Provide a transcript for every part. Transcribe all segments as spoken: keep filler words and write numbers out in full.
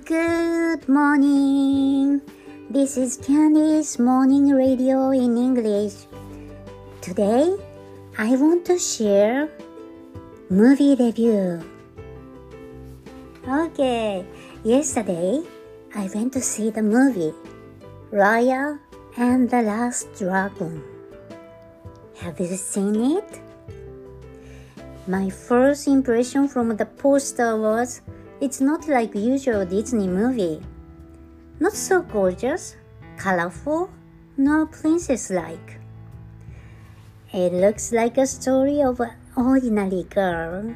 Good morning. This is Candy's Morning Radio in English. Today, I want to share movie review. Okay, yesterday, I went to see the movie Raya and the Last Dragon. Have you seen it? My first impression from the poster was, it's not like usual Disney movie. Not so gorgeous, colorful, nor princess-like. It looks like a story of an ordinary girl.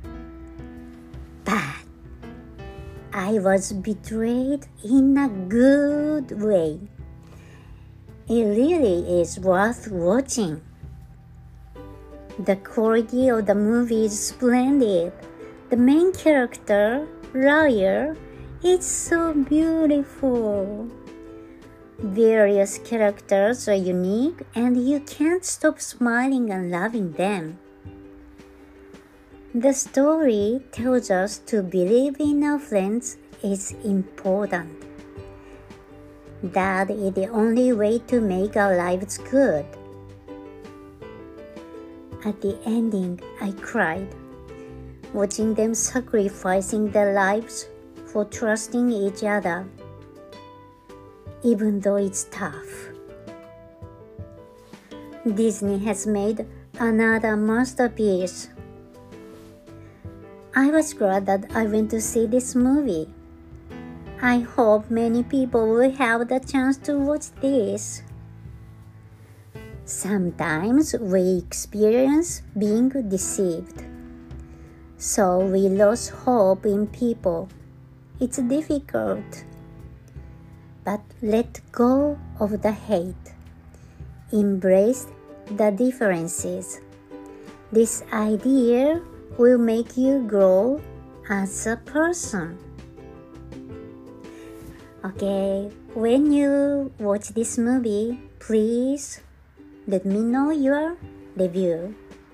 But I was betrayed in a good way. It really is worth watching. The quality of the movie is splendid. The main character, Raya, is so beautiful. Various characters are unique and you can't stop smiling and loving them. The story tells us to believe in our friends is important. That is the only way to make our lives good. At the ending, I cried, watching them sacrificing their lives for trusting each other, even though it's tough. Disney has made another masterpiece. I was glad that I went to see this movie. I hope many people will have the chance to watch this. Sometimes we experience being deceived, so we lose hope in people. It's difficult, but let go of the hate. Embrace the differences. This idea will make you grow as a person. Okay, when you watch this movie, please let me know your review.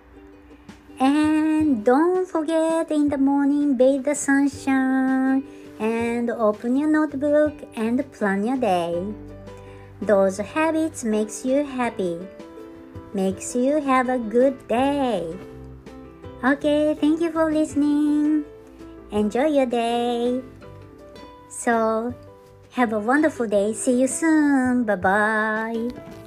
And don't forget in the morning, bathe the sunshine and open your notebook and plan your day. Those habits makes you happy, makes you have a good day. Okay, thank you for listening. Enjoy your day. So, have a wonderful day. See you soon. Bye-bye.